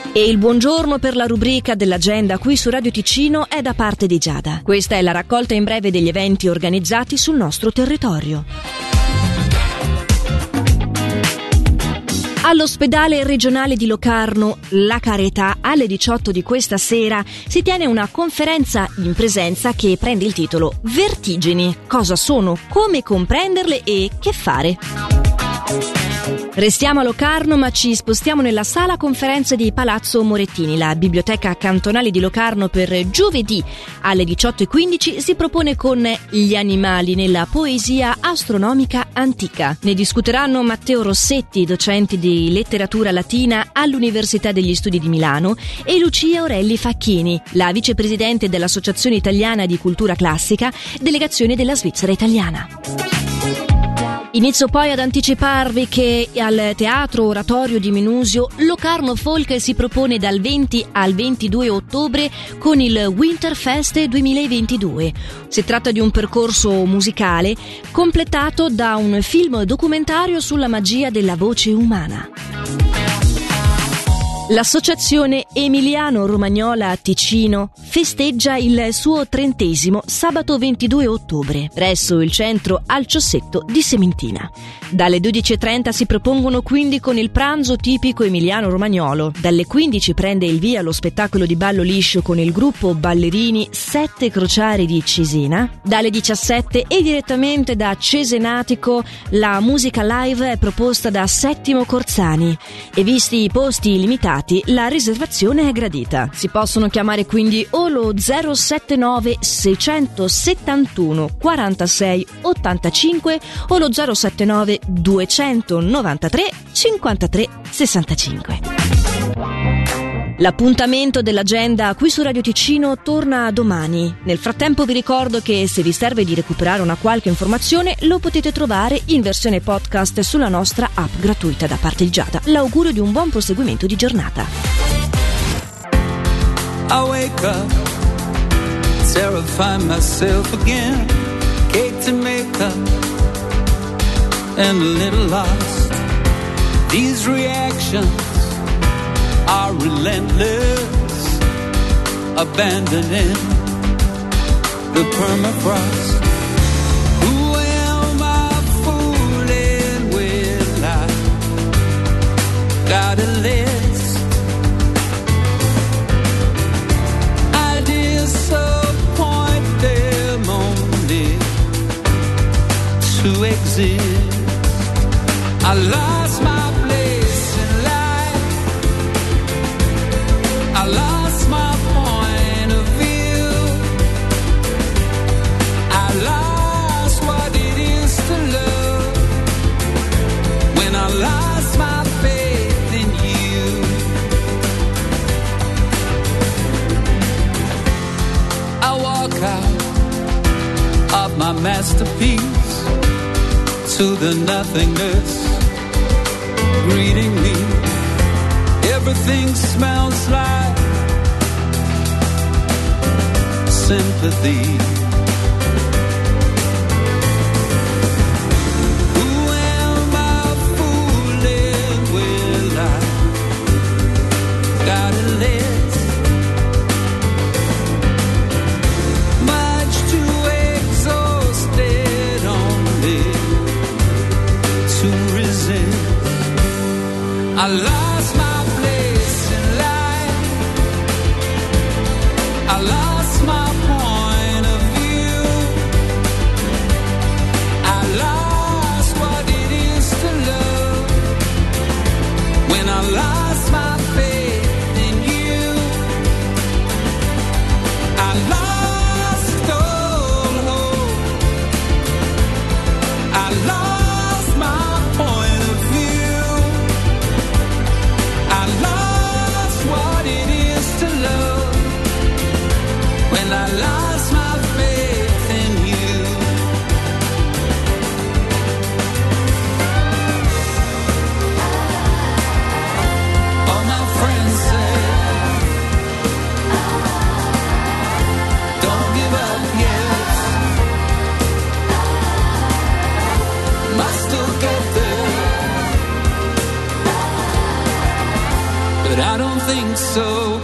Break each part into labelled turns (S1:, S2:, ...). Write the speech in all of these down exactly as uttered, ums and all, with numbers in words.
S1: E il buongiorno per la rubrica dell'agenda qui su Radio Ticino è da parte di Giada. Questa è la raccolta in breve degli eventi organizzati sul nostro territorio. All'ospedale regionale di Locarno, La Carità, alle diciotto di questa sera si tiene una conferenza in presenza che prende il titolo Vertigini. Cosa sono, come comprenderle e che fare? Restiamo a Locarno, ma ci spostiamo nella sala conferenze di Palazzo Morettini. La biblioteca cantonale di Locarno per giovedì alle diciotto e quindici si propone con gli animali nella poesia astronomica antica. Ne discuteranno Matteo Rossetti, docente di letteratura latina all'Università degli Studi di Milano, e Lucia Orelli Facchini, la vicepresidente dell'Associazione Italiana di Cultura Classica, delegazione della Svizzera Italiana. Inizio poi ad anticiparvi che al Teatro Oratorio di Minusio Locarno Folk si propone dal venti al ventidue ottobre con il Winterfest duemilaventidue. Si tratta di un percorso musicale completato da un film documentario sulla magia della voce umana. L'Associazione Emiliano Romagnola Ticino festeggia il suo trentesimo sabato ventidue ottobre presso il centro Alciossetto di Sementina. Dalle dodici e trenta si propongono quindi con il pranzo tipico emiliano romagnolo. Dalle quindici prende il via lo spettacolo di ballo liscio con il gruppo ballerini Sette Crociari di Cesena. Dalle diciassette e direttamente da Cesenatico la musica live è proposta da Settimo Corzani e visti i posti limitati la riservazione è gradita. Si possono chiamare quindi o lo zero sette nove sei settantuno quarantasei ottantacinque o lo zero sette nove duecentonovantatré cinquantatré sessantacinque. L'appuntamento dell'agenda qui su Radio Ticino torna domani. Nel frattempo vi ricordo che se vi serve di recuperare una qualche informazione lo potete trovare in versione podcast sulla nostra app gratuita da parte di Giada. L'augurio di un buon proseguimento di giornata.
S2: I wake up, terrify myself again, cake to make up, and a little lost. These reactions are relentless, abandoning the permafrost. Who am I fooling with? I got a list. I disappoint them only to exist. I lost my place in life. I lost my point of view. I lost what it is to love when I lost my faith in you. I walk out of my masterpiece to the nothingness greeting me. Everything smells like sympathy. Who am I fooling? Will I got a list? Much too exhausted only to resist. I lost my place in life. I lost my point of view. I lost what it is to love when I lost my faith in you. I lost all hope. I lost my point of view. don't think so.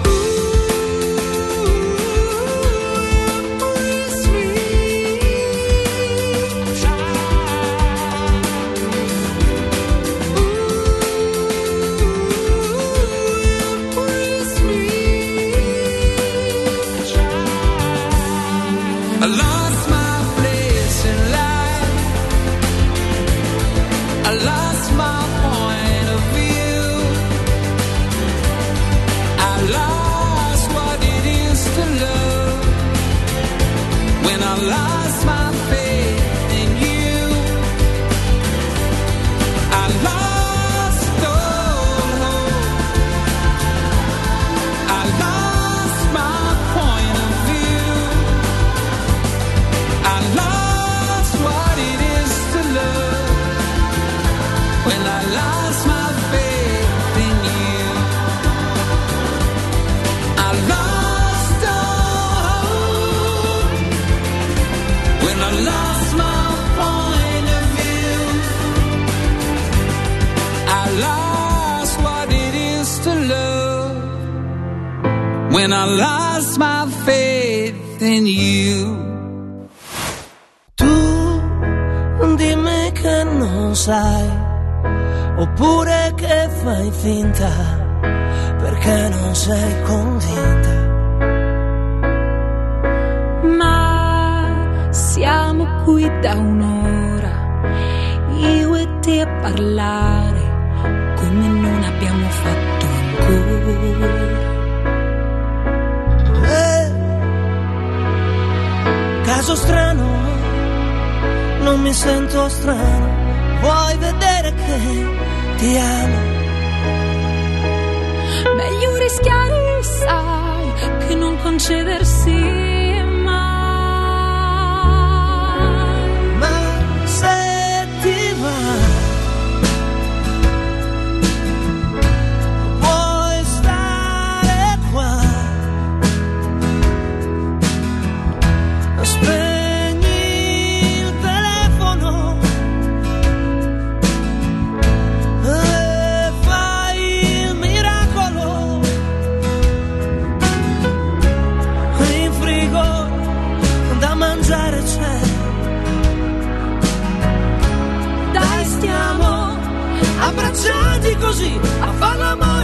S3: I lost my place in life. I lost my point of view. I lost what it is to love. When I lost my faith in you, I lost all hope. I lost my point of view. I lost what it is to love. When I lost my faith in you, I lost all hope. When I lost my point of view, I lost what it is to love. When I lost my faith in you.
S4: Dimmi che non sai, oppure che fai finta, perché non sei convinta.
S5: Ma siamo qui da un'ora, io e te a parlare, come non abbiamo fatto ancora.
S4: Eh, caso strano, non mi sento strano, vuoi vedere che ti amo?
S5: Meglio rischiare, sai, che non concedersi mai.
S4: Ma se ti va, puoi stare qua. Aspetta, abbracciati così a far l'amore.